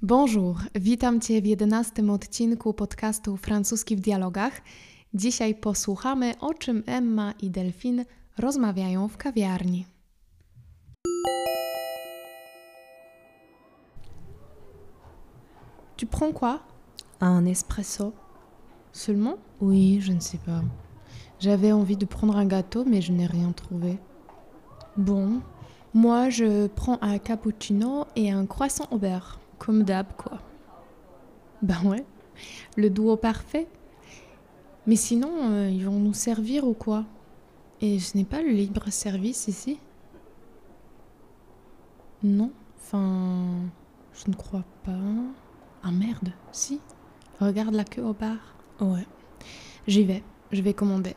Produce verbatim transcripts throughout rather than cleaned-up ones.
Bonjour, witam Cię w jedenastym odcinku podcastu Francuski w dialogach. Dzisiaj posłuchamy, o czym Emma i Delphine rozmawiają w kawiarni. Tu prends quoi? Un espresso. Seulement? Oui, je ne sais pas. J'avais envie de prendre un gâteau, mais je n'ai rien trouvé. Bon, moi je prends un cappuccino et un croissant au beurre. Comme d'hab, quoi. Ben ouais, le duo parfait. Mais sinon, euh, ils vont nous servir ou quoi? Et ce n'est pas le libre-service ici? Non, enfin, je ne crois pas. Ah merde, si. Regarde la queue au bar. Ouais, j'y vais, je vais commander.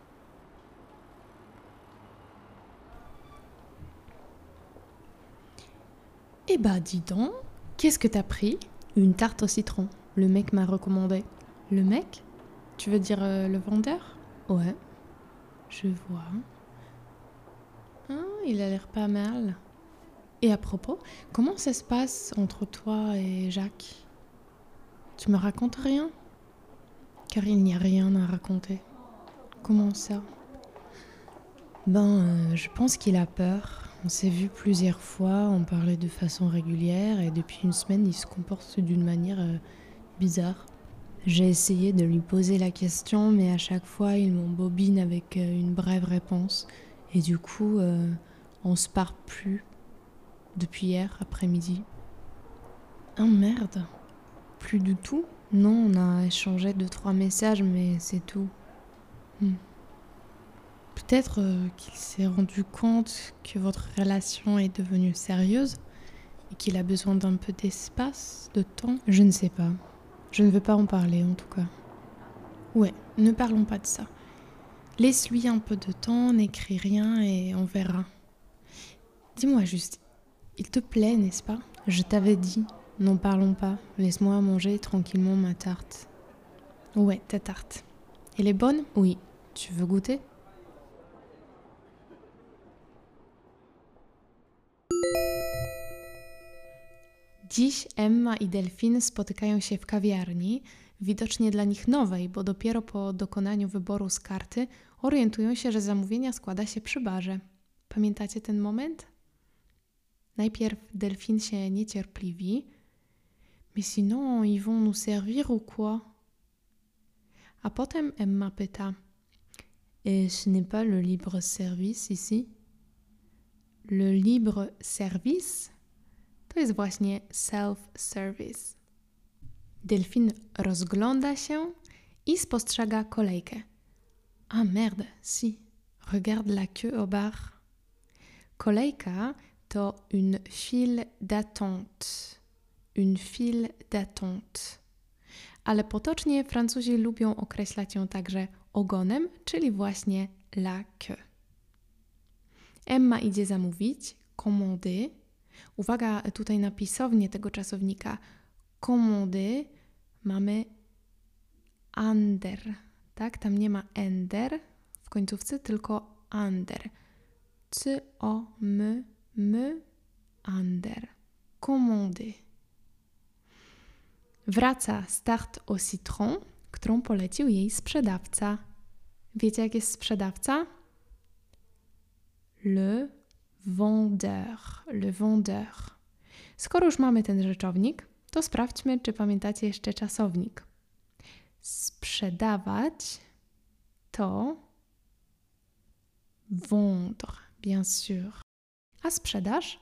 Eh bah dis donc, qu'est-ce que t'as pris? Une tarte au citron. Le mec m'a recommandé. Le mec? Tu veux dire euh, le vendeur? Ouais. Je vois. Ah, il a l'air pas mal. Et à propos, comment ça se passe entre toi et Jacques? Tu me racontes rien? Car il n'y a rien à raconter. Comment ça? Ben, euh, je pense qu'il a peur. On s'est vu plusieurs fois, on parlait de façon régulière et depuis une semaine, il se comporte d'une manière euh, bizarre. J'ai essayé de lui poser la question, mais à chaque fois, il m'embobine avec euh, une brève réponse. Et du coup, euh, on se parle plus depuis hier après-midi. Ah merde! Plus du tout? Non, on a échangé deux, trois messages, mais c'est tout. Hmm. Peut-être euh, qu'il s'est rendu compte que votre relation est devenue sérieuse et qu'il a besoin d'un peu d'espace, de temps. Je ne sais pas. Je ne veux pas en parler en tout cas. Ouais, ne parlons pas de ça. Laisse-lui un peu de temps, n'écris rien et on verra. Dis-moi juste, il te plaît, n'est-ce pas? Je t'avais dit, n'en parlons pas. Laisse-moi manger tranquillement ma tarte. Ouais, ta tarte. Elle est bonne? Oui. Tu veux goûter? Dziś Emma i Delphine spotykają się w kawiarni, widocznie dla nich nowej, bo dopiero po dokonaniu wyboru z karty orientują się, że zamówienia składa się przy barze. Pamiętacie ten moment? Najpierw Delphine się niecierpliwi. Mais sinon, ils vont nous servir ou quoi? A potem Emma pyta. Et ce n'est pas le libre service ici? Le libre service? To jest właśnie self-service. Delphine rozgląda się i spostrzega kolejkę. Ah merde, si. Regarde la queue au bar. Kolejka to une file d'attente. Une file d'attente. Ale potocznie Francuzi lubią określać ją także ogonem, czyli właśnie la queue. Emma idzie zamówić, commander. Uwaga tutaj na pisownię tego czasownika. Commander mamy ander, tak? Tam nie ma ender w końcówce, tylko ander. C o m m ander. Commander. Wraca z tarte au citron, którą polecił jej sprzedawca. Wiecie, jak jest sprzedawca? Le vendeur. Le vendeur. Skoro już mamy ten rzeczownik, to sprawdźmy, czy pamiętacie jeszcze czasownik. Sprzedawać to vendre, bien sûr. A sprzedaż?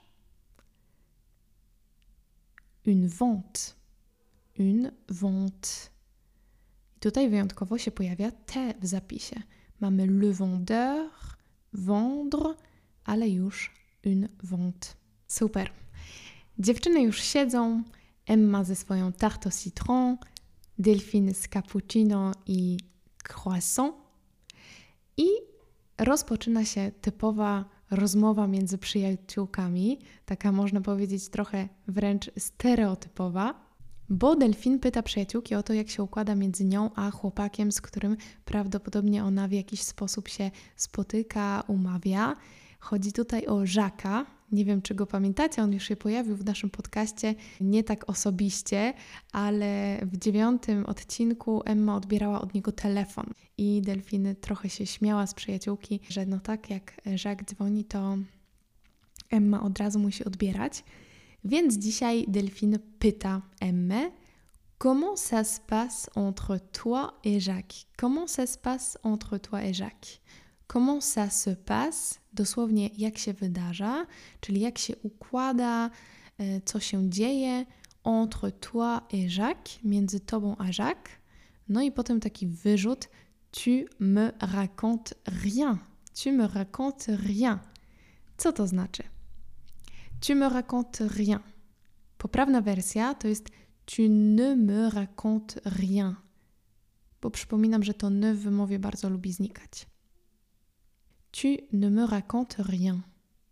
Une vente. Une vente. I tutaj wyjątkowo się pojawia te w zapisie. Mamy le vendeur, vendre, ale już une vente. Super. Dziewczyny już siedzą. Emma ze swoją tarte au citron, Delphine z cappuccino i croissant. I rozpoczyna się typowa rozmowa między przyjaciółkami, taka można powiedzieć trochę wręcz stereotypowa, bo Delphine pyta przyjaciółki o to, jak się układa między nią a chłopakiem, z którym prawdopodobnie ona w jakiś sposób się spotyka, umawia. Chodzi tutaj o Jacques'a. Nie wiem, czy go pamiętacie, on już się pojawił w naszym podcaście, nie tak osobiście, ale w dziewiątym odcinku Emma odbierała od niego telefon i Delfiny trochę się śmiała z przyjaciółki, że no tak, jak Jacques dzwoni, to Emma od razu musi odbierać. Więc dzisiaj Delphine pyta Emmę: Comment ça se passe entre toi et Jacques? Comment ça se passe entre toi et Jacques? Comment ça se passe? Dosłownie jak się wydarza, czyli jak się układa, co się dzieje entre toi et Jacques, między tobą a Jacques. No i potem taki wyrzut: Tu me racontes rien. Tu me racontes rien. Co to znaczy? Tu me racontes rien. Poprawna wersja to jest tu ne me racontes rien. Bo przypominam, że to ne w wymowie bardzo lubi znikać. Tu ne me racontes rien.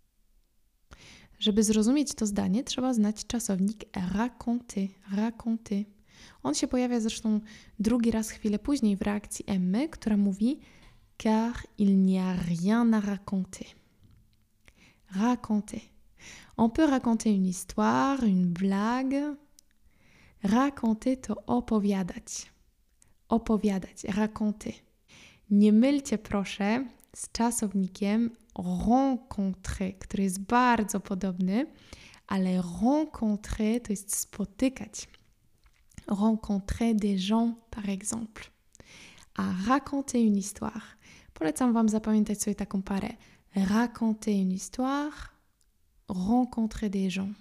Żeby zrozumieć to zdanie, trzeba znać czasownik raconter. Raconter. On się pojawia zresztą drugi raz chwilę później w reakcji Emmy, która mówi car il n'y a rien à raconter. Raconter. On peut raconter une histoire, une blague. Raconter to opowiadać. Opowiadać. Raconter. Nie mylcie proszę z czasownikiem rencontrer, który jest bardzo podobny, ale rencontrer to jest spotykać. Rencontrer des gens, par exemple. A raconter une histoire. Polecam Wam zapamiętać sobie taką parę. Raconter une histoire, rencontrer des gens.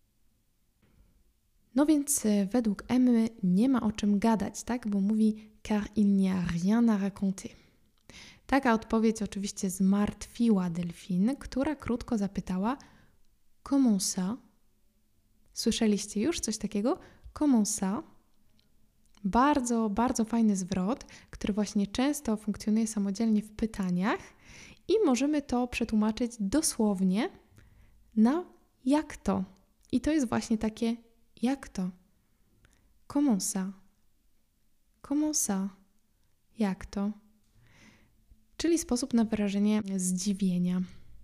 No więc według Emmy nie ma o czym gadać, tak? Bo mówi car il n'y a rien à raconter. Taka odpowiedź oczywiście zmartwiła Delphine, która krótko zapytała comment ça? Słyszeliście już coś takiego? Comment ça? Bardzo, bardzo fajny zwrot, który właśnie często funkcjonuje samodzielnie w pytaniach i możemy to przetłumaczyć dosłownie na jak to. I to jest właśnie takie jak to. Comment ça? Comment ça? Jak to? Czyli sposób na wyrażenie zdziwienia.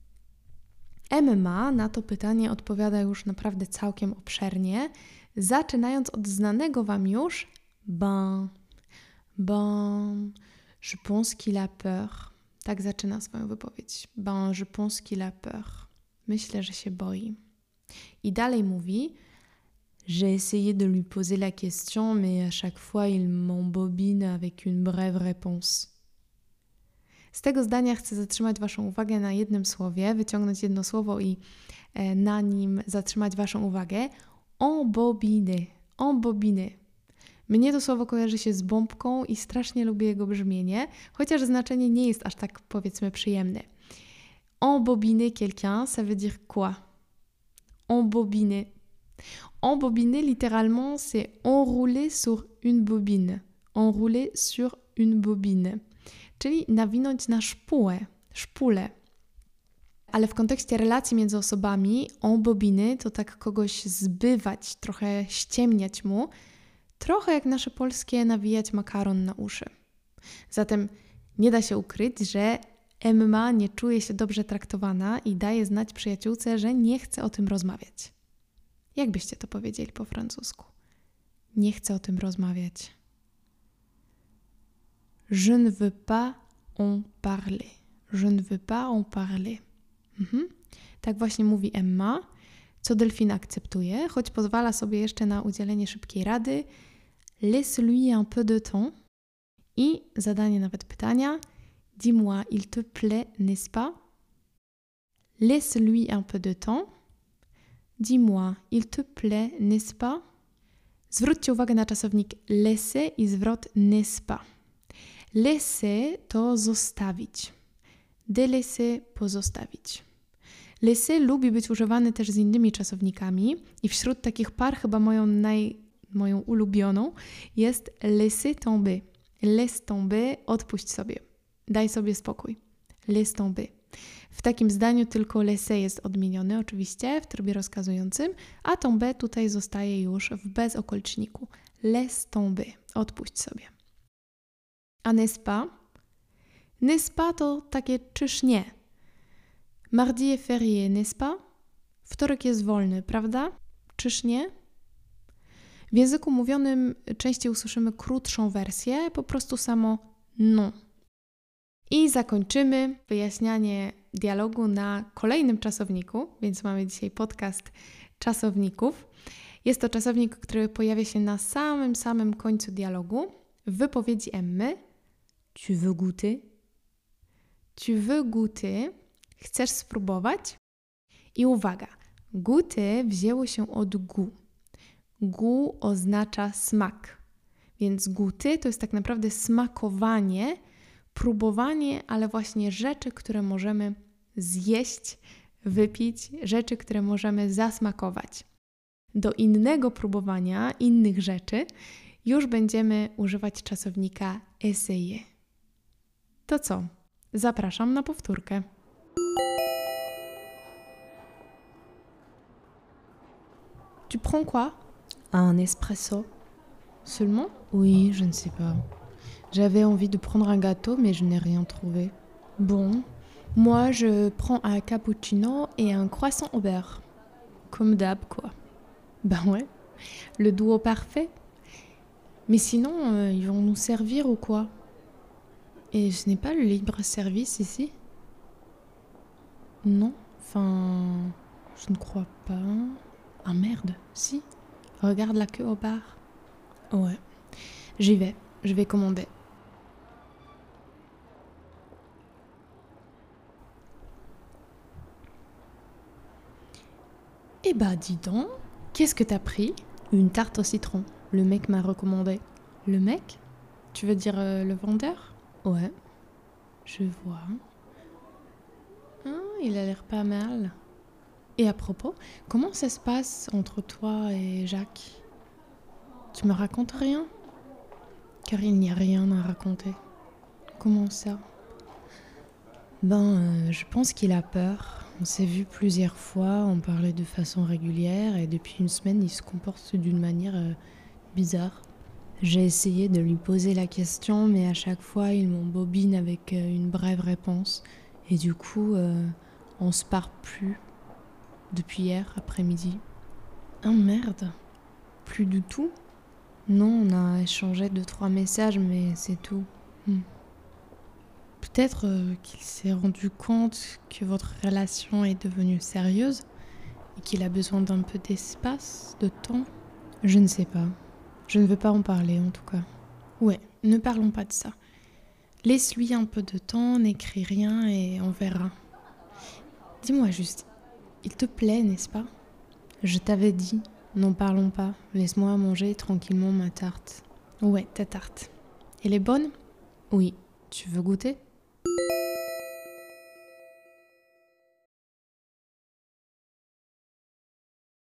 Emma na to pytanie odpowiada już naprawdę całkiem obszernie, zaczynając od znanego Wam już ben, ben, je pense qu'il a peur. Tak zaczyna swoją wypowiedź. Ben, je pense qu'il a peur. Myślę, że się boi. I dalej mówi j'ai essayé de lui poser la question, mais à chaque fois il m'embobine avec une brève réponse. Z tego zdania chcę zatrzymać Waszą uwagę na jednym słowie, wyciągnąć jedno słowo i e, na nim zatrzymać Waszą uwagę. Embobiner. Embobiner. Mnie to słowo kojarzy się z bombką i strasznie lubię jego brzmienie, chociaż znaczenie nie jest aż tak, powiedzmy, przyjemne. Embobiner quelqu'un, ça veut dire quoi? Embobiner. Embobiner, littéralement, c'est enrouler sur une bobine. Enrouler sur une bobine. Czyli nawinąć na szpułę, szpulę. Ale w kontekście relacji między osobami embobiny to tak kogoś zbywać, trochę ściemniać mu, trochę jak nasze polskie nawijać makaron na uszy. Zatem nie da się ukryć, że Emma nie czuje się dobrze traktowana i daje znać przyjaciółce, że nie chce o tym rozmawiać. Jak byście to powiedzieli po francusku? Nie chcę o tym rozmawiać. Je ne veux pas en parler. Je ne veux pas en parler. Mhm. Tak właśnie mówi Emma, co Delphine akceptuje, choć pozwala sobie jeszcze na udzielenie szybkiej rady. Laisse-lui un peu de temps. I zadanie nawet pytania. Dis-moi, il te plaît, n'est-ce pas? Laisse-lui un peu de temps. Dis-moi, il te plaît, n'est-ce pas? Zwróćcie uwagę na czasownik laisser i zwrot n'est-ce pas. Laisser to zostawić. Délaisser pozostawić. Laisser lubi być używany też z innymi czasownikami i wśród takich par chyba moją, naj, moją ulubioną jest laisser tomber. Laisse tomber, odpuść sobie. Daj sobie spokój. Laisse tomber. W takim zdaniu tylko laisser jest odmieniony oczywiście w trybie rozkazującym, a tomber tutaj zostaje już w bezokoliczniku. Laisse tomber. Odpuść sobie. A n'est-ce pas? N'est-ce pas to takie czyż nie. Mardi est férié, n'est-ce pas? Wtorek jest wolny, prawda? Czyż nie? W języku mówionym częściej usłyszymy krótszą wersję, po prostu samo non. I zakończymy wyjaśnianie dialogu na kolejnym czasowniku, więc mamy dzisiaj podcast czasowników. Jest to czasownik, który pojawia się na samym, samym końcu dialogu. W wypowiedzi Emmy tu veux goûter? Tu veux goûter? Chcesz spróbować? I uwaga, goûter wzięło się od goût. Goût oznacza smak, więc goûter to jest tak naprawdę smakowanie, próbowanie, ale właśnie rzeczy, które możemy zjeść, wypić, rzeczy, które możemy zasmakować. Do innego próbowania, innych rzeczy już będziemy używać czasownika essayer. To co? Zapraszam na powtórkę. Tu prends quoi? Un espresso? Seulement? Oui, je ne sais pas. J'avais envie de prendre un gâteau, mais je n'ai rien trouvé. Bon, moi je prends un cappuccino et un croissant au beurre. Comme d'hab, quoi. Ben ouais, le duo parfait. Mais sinon, euh, ils vont nous servir ou quoi? Et ce n'est pas le libre-service ici? Non, enfin, je ne crois pas. Ah merde, si. Regarde la queue au bar. Ouais, j'y vais, je vais commander. Eh bah dis donc, qu'est-ce que t'as pris? Une tarte au citron. Le mec m'a recommandé. Le mec? Tu veux dire euh, le vendeur? Ouais. Je vois. Ah, il a l'air pas mal. Et à propos, comment ça se passe entre toi et Jacques? Tu me racontes rien? Car il n'y a rien à raconter. Comment ça? Ben, euh, je pense qu'il a peur. On s'est vu plusieurs fois, on parlait de façon régulière et depuis une semaine, il se comporte d'une manière euh, bizarre. J'ai essayé de lui poser la question, mais à chaque fois, il m'embobine avec euh, une brève réponse. Et du coup, euh, on se parle plus depuis hier après-midi. Ah merde! Plus du tout? Non, on a échangé deux, trois messages, mais c'est tout. Hmm. Peut-être euh, qu'il s'est rendu compte que votre relation est devenue sérieuse et qu'il a besoin d'un peu d'espace, de temps. Je ne sais pas. Je ne veux pas en parler en tout cas. Ouais, ne parlons pas de ça. Laisse-lui un peu de temps, n'écris rien et on verra. Dis-moi juste, il te plaît, n'est-ce pas? Je t'avais dit, n'en parlons pas. Laisse-moi manger tranquillement ma tarte. Ouais, ta tarte. Elle est bonne? Oui. Tu veux goûter?